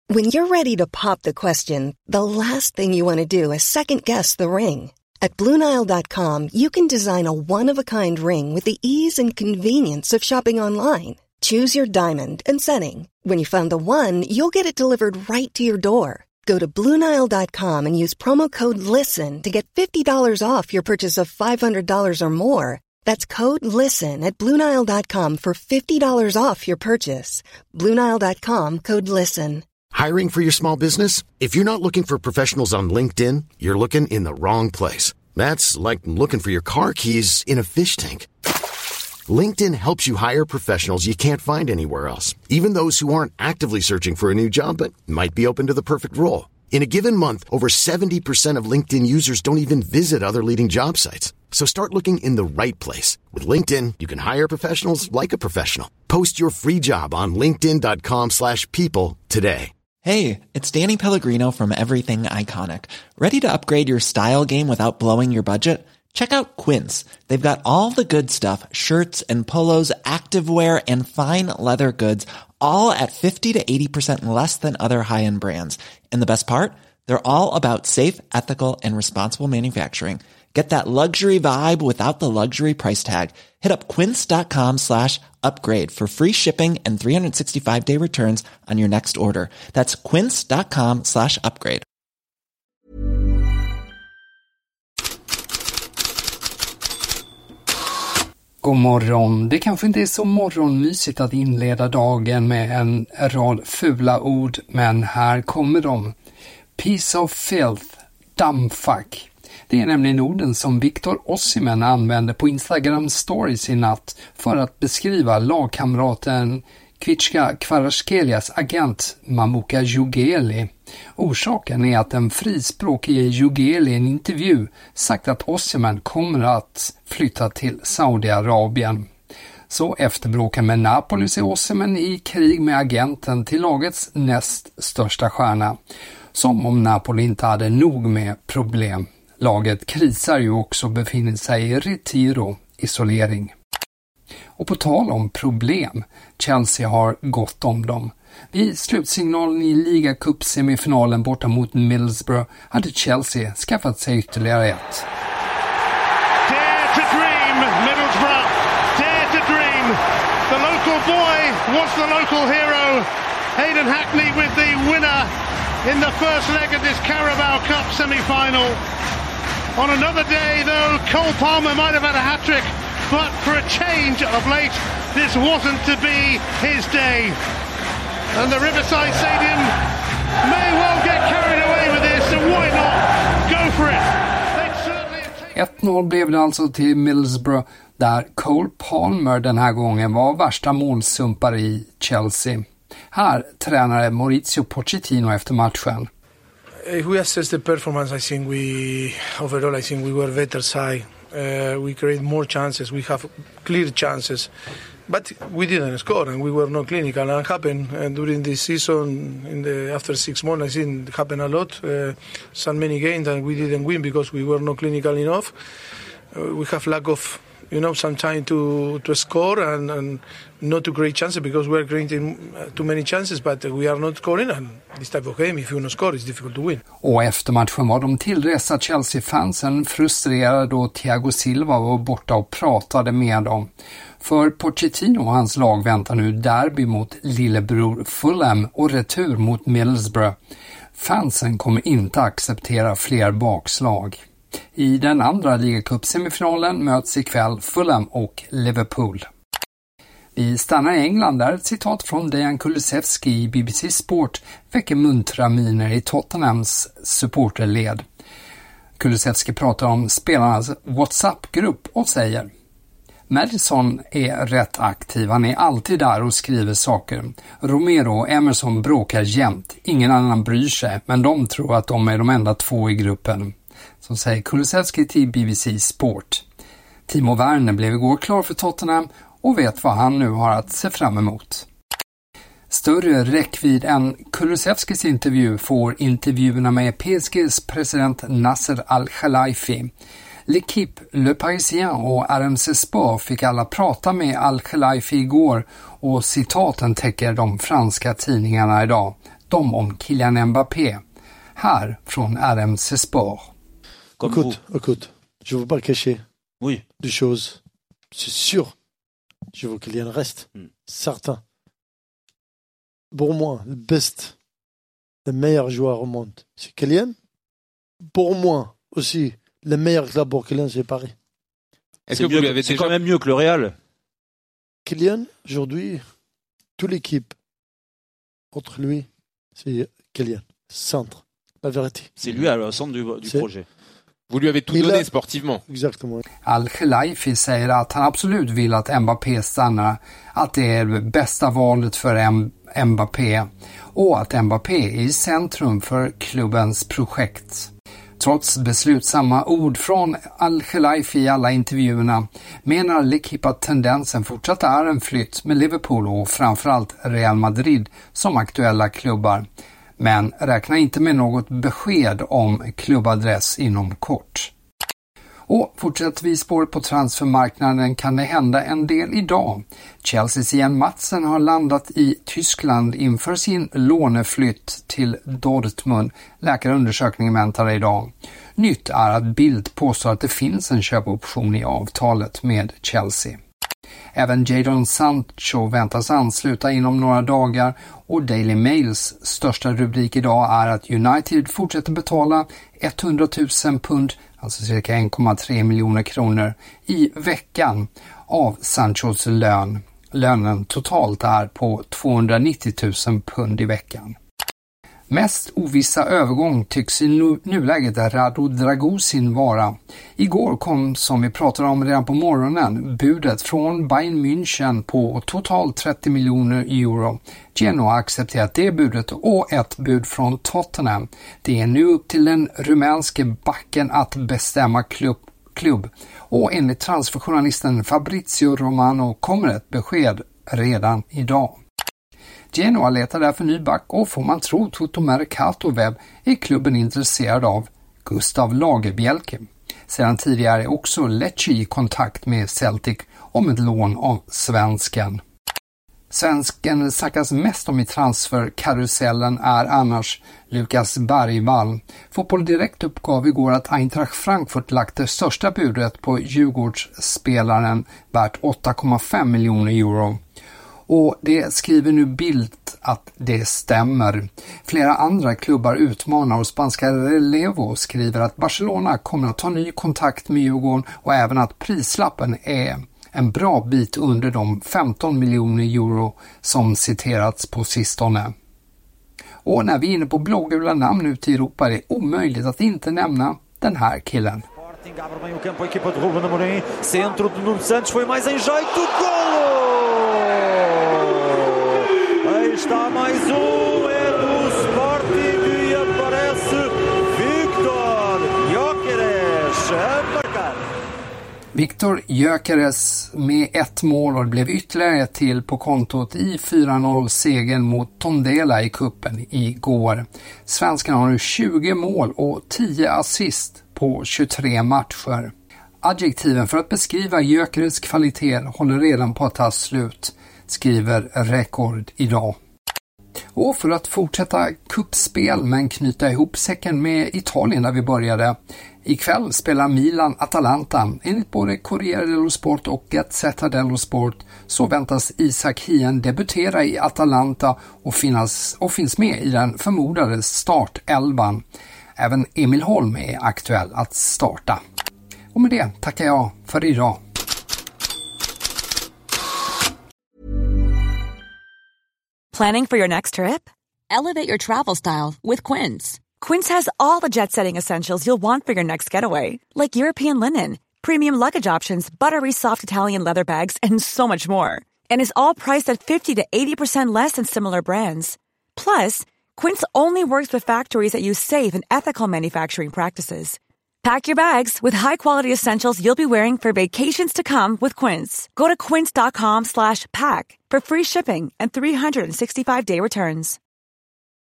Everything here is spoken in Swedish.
When you're ready to pop the question, the last thing you want to do is second-guess the ring. At BlueNile.com, you can design a one-of-a-kind ring with the ease and convenience of shopping online. Choose your diamond and setting. When you find the one, you'll get it delivered right to your door. Go to BlueNile.com and use promo code LISTEN to get $50 off your purchase of $500 or more. That's code LISTEN at BlueNile.com for $50 off your purchase. BlueNile.com, code LISTEN. Hiring for your small business? If you're not looking for professionals on LinkedIn, you're looking in the wrong place. That's like looking for your car keys in a fish tank. LinkedIn helps you hire professionals you can't find anywhere else, even those who aren't actively searching for a new job but might be open to the perfect role. In a given month, over 70% of LinkedIn users don't even visit other leading job sites. So start looking in the right place. With LinkedIn, you can hire professionals like a professional. Post your free job on linkedin.com/people today. Hey, it's Danny Pellegrino from Everything Iconic. Ready to upgrade your style game without blowing your budget? Check out Quince. They've got all the good stuff, shirts and polos, activewear, and fine leather goods, all at 50 to 80% less than other high-end brands. And the best part? They're all about safe, ethical, and responsible manufacturing. Get that luxury vibe without the luxury price tag. Hit up quince.com/upgrade for free shipping and 365-day returns on your next order. That's quince.com/upgrade. God morgon. Det kanske inte är så morgonmysigt att inleda dagen med en rad fula ord, men här kommer de. Piece of filth, dammfuck. Det är nämligen orden som Victor Osimhen använde på Instagram Stories i natt för att beskriva lagkamraten Kvichka Kvaratskhelia agent Mamuka Djugeli. Orsaken är att en frispråkig Djugeli i en intervju sagt att Osimhen kommer att flytta till Saudiarabien. Så efter bråken med Napoli ser Osimhen i krig med agenten till lagets näst största stjärna. Som om Napoli inte hade nog med problem. Laget krisar ju också och befinner sig i retiro, isolering. Och på tal om problem, Chelsea har gått om dem. Vid slutsignalen i Liga Cup-semifinalen borta mot Middlesbrough hade Chelsea skaffat sig ytterligare ett. Dare to dream, Middlesbrough. Dare to dream. The local boy was the local hero. Hayden Hackney with the winner in the first leg of this Carabao Cup semi-final. On another day, though, Cole Palmer might have had a hat-trick, but for a change of late, this wasn't to be his day. And the Riverside Stadium may well get carried away with this, and why not go for it? 1-0 blev det alltså till Middlesbrough, där Cole Palmer den här gången var värsta målsumpare i Chelsea. Här tränare Mauricio Pochettino efter matchen. If we assess the performance, I think overall we were better side. We create more chances. We have clear chances, but we didn't score, and we were not clinical. And it happened during this season. After 6 months, I think it happened a lot. So many games that we didn't win because we were not clinical enough. We have lack of some time to score and not to create chances because we're creating too many chances, but we are not scoring, and this type of game, if you don't score, it's difficult to win. Och efter matchen var de tillresta Chelsea-fansen frustrerade då Thiago Silva var borta och pratade med dem. För Pochettino och hans lag väntar nu derby mot lillebror Fulham och retur mot Middlesbrough. Fansen kommer inte acceptera fler bakslag. I den andra Liga Cup-semifinalen möts ikväll Fulham och Liverpool. Vi stannar i England där ett citat från Dejan Kulusevski i BBC Sport väcker muntra miner i Tottenhams supporterled. Kulusevski pratar om spelarnas WhatsApp-grupp och säger: Madison är rätt aktiv, han är alltid där och skriver saker. Romero och Emerson bråkar jämt, ingen annan bryr sig, men de tror att de är de enda 2 i gruppen. Som säger Kulusevski till BBC Sport. Timo Werner blev igår klar för Tottenham och vet vad han nu har att se fram emot. Större räckvidd än Kulusevskis intervju får intervjuerna med PSGs president Nasser Al-Khelaifi. L'Equipe, Le Parisien och RMC Sport fick alla prata med Al-Khelaifi igår och citaten täcker de franska tidningarna idag. bråttom om Kylian Mbappé. Här från RMC Sport. Écoute, je veux pas cacher Oui. des choses. C'est sûr, je veux qu'il y ait un reste. Certain. Pour moi, le meilleur joueur au monde, c'est Kylian. Pour moi aussi, le meilleur club pour Kylian, c'est Paris. Est-ce que vous lui avez déjà... quand même mieux que le Real. Kylian, aujourd'hui, toute l'équipe, contre lui, c'est Kylian. Centre, la vérité. C'est lui à le centre du projet. Vous lui avez tout donné sportivement. Exactement. Al-Khelaifi säger att han absolut vill att Mbappé stannar, att det är det bästa valet för Mbappé och att Mbappé är i centrum för klubbens projekt. Trots beslutsamma ord från Al-Khelaifi i alla intervjuerna menar L'Equipe att tendensen fortsatt är en flytt med Liverpool och framförallt Real Madrid som aktuella klubbar. Men räkna inte med något besked om klubbadress inom kort. Och fortsätter vi spåret på transfermarknaden kan det hända en del idag. Chelseas Ian Madsen har landat i Tyskland inför sin låneflytt till Dortmund. Läkarundersökningen väntar idag. Nytt är att Bild påstår att det finns en köpoption i avtalet med Chelsea. Även Jadon Sancho väntas ansluta inom några dagar och Daily Mails största rubrik idag är att United fortsätter betala 100 000 pund, alltså cirka 1,3 miljoner kronor i veckan av Sanchos lön. Lönen totalt är på 290 000 pund i veckan. Mest ovissa övergång tycks i nuläget Radu Dragusin vara. Igår kom, som vi pratade om redan på morgonen, budet från Bayern München på totalt 30 miljoner euro. Genoa har accepterat det budet och ett bud från Tottenham. Det är nu upp till den rumänske backen att bestämma klubb. Och enligt transferjournalisten Fabrizio Romano kommer ett besked redan idag. Genoa letar därför ny back och får man tro Toto Mercato Web är klubben intresserad av Gustav Lagerbielke. Sedan tidigare är också Lecce i kontakt med Celtic om ett lån av svensken. Svensken snackas mest om i transferkarusellen är annars Lukas Bergvall. Fotboll Direkt uppgav igår att Eintracht Frankfurt lagt det största budet på Djurgårdsspelaren värt 8,5 miljoner euro. Och det skriver nu Bild att det stämmer. Flera andra klubbar utmanar och spanska Relevo skriver att Barcelona kommer att ta ny kontakt med Djurgården och även att prislappen är en bra bit under de 15 miljoner euro som citerats på sistone. Och när vi är inne på blågula namn ute i Europa är det omöjligt att inte nämna den här killen. Abre bem o campo a equipa de Ruben Amorim. Centro de Nuno Santos foi mais em jeito. Golo! Aí está mais é do Sporting e aparece Victor Gyökeres a marcar. Victor Gyökeres med ett mål och det blev ytterligare ett till på kontot i 4-0-segern mot Tondela i kuppen igår. Svenskarna har nu 20 mål och 10 assist på 23 matcher. Adjektiven för att beskriva Gyökeres kvalitet håller redan på att ta slut, skriver Rekord idag. Och för att fortsätta kuppspel men knyta ihop säcken med Italien där vi började. Ikväll spelar Milan Atalanta. Enligt både Corriere dello Sport och Gazzetta dello Sport så väntas Isak Hien debutera i Atalanta och finns med i den förmodade startelvan. Även Emil Holm är aktuell att starta. Och med det tackar jag för idag. Planning for your next trip? Elevate your travel style with Quince. Quince has all the jet-setting essentials you'll want for your next getaway, like European linen, premium luggage options, buttery soft Italian leather bags, and so much more. And is all priced at 50 to 80% less than similar brands. Plus, Quince only works with factories that use safe and ethical manufacturing practices. Pack your bags with high-quality essentials you'll be wearing for vacations to come with Quince. Go to quince.com/pack for free shipping and 365-day returns.